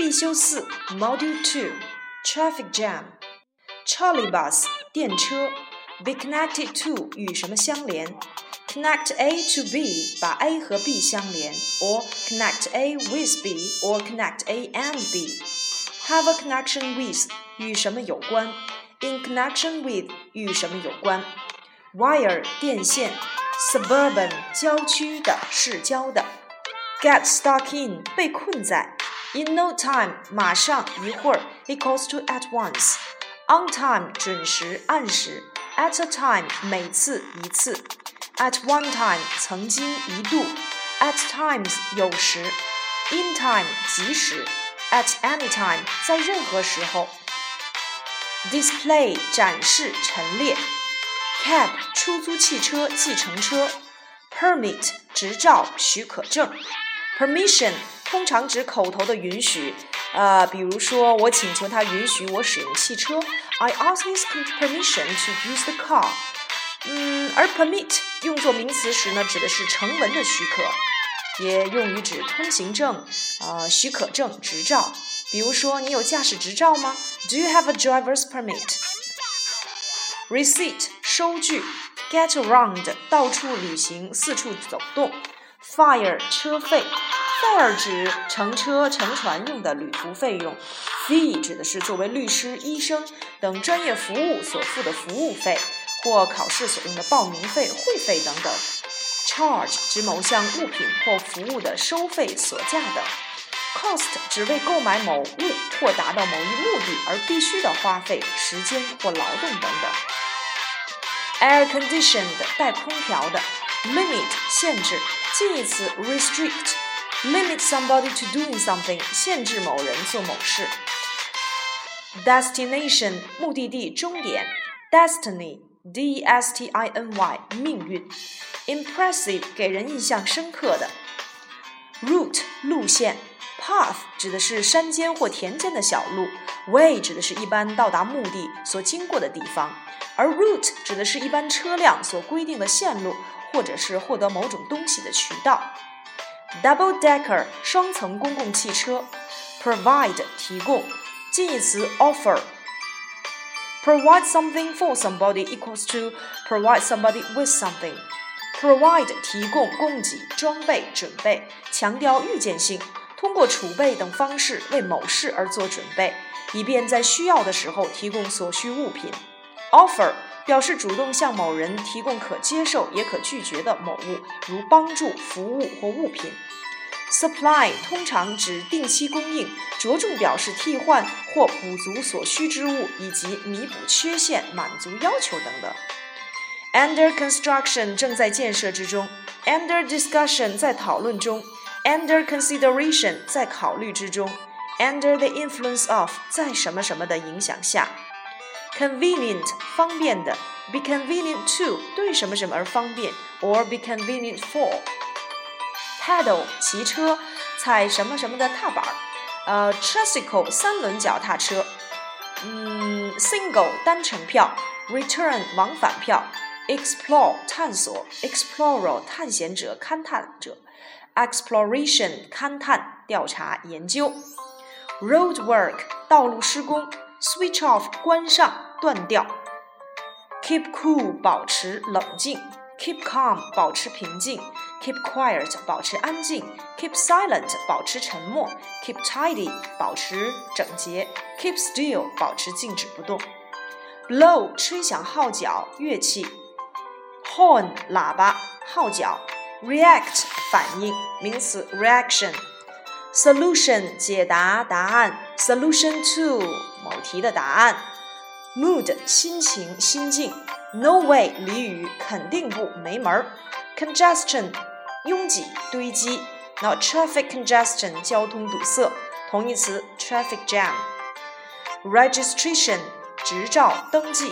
必修4 Module 2 Traffic Jam Trolley Bus 电车 Be connected to 与什么相连Connect A to B 把 A 和 B 相连 or connect A with B or connect A and B Have a connection with 与什么有关 In connection with 与什么有关 Wire 电线 Suburban 郊区的市郊的 Get stuck in 被困在 In no time 马上一会儿 equals to at once On time 准时按时 At a time 每次一次At one time 曾经一度 At times 有时 In time 及时 At any time 在任何时候 Display 展示陈列 Cab 出租汽车计程车 Permit 执照许可证 Permission 通常指口头的允许比如说我请求他允许我使用汽车 I ask his permission to use the car而 permit 用作名词时呢，指的是成文的许可，也用于指通行证、许可证、执照。比如说，你有驾驶执照吗 ？Do you have a driver's permit? Receipt 收据 ，get around 到处旅行、四处走动。Fare 车费 ，fare 指乘车、乘船用的旅途费用。Fee 指的是作为律师、医生等专业服务所付的服务费。或考试所用的报名费、会费等等 Charge 指某项物品或服务的收费、所价等 Cost 指为购买某物或达到某一目的而必须的花费、时间或劳动等等 Air conditioned 带空调的 Limit 限制近义词 Restrict Limit somebody to doing something 限制某人做某事 Destination 目的地、终点 Destiny D-E-S-T-I-N-Y 命运 Impressive 给人印象深刻的 Route 路线 Path 指的是山间或田间的小路 Way 指的是一般到达目的所经过的地方而 Route 指的是一般车辆所规定的线路或者是获得某种东西的渠道 Double decker 双层公共汽车 Provide 提供近义词 Offer Provide something for somebody equals to provide somebody with something. Provide 提供、供给、装备、准备，强调预见性，通过储备等方式为某事而做准备，以便在需要的时候提供所需物品。Offer 表示主动向某人提供可接受也可拒绝的某物，如帮助、服务或物品。Supply 通常指定期供应，着重表示替换或补足所需之物，以及弥补缺陷、满足要求等等。Under construction 正在建设之中 Under discussion 在讨论中 Under consideration 在考虑之中 Under the influence of 在什么什么的影响下 Convenient 方便的 Be convenient to 对什么什么而方便 or be convenient for Pedal 骑车踩什么什么的踏板tricycle 三轮脚踏车single 单程票 return 往返票 explore 探索 explorer 探险者勘探者 exploration 勘探调查研究 road work 道路施工 switch off 关上断掉 keep cool 保持冷静Keep calm 保持平静 Keep quiet 保持安静 Keep silent 保持沉默 Keep tidy 保持整洁 Keep still 保持静止不动 Blow 吹响号角乐器 Horn 喇叭号角 React 反应名词 reaction Solution 解答答案 Solution to 某题的答案 Mood 心情心境No way 俚语肯定不没门 Congestion 拥挤堆积 Now traffic congestion 交通堵塞同义词 traffic jam Registration 执照登记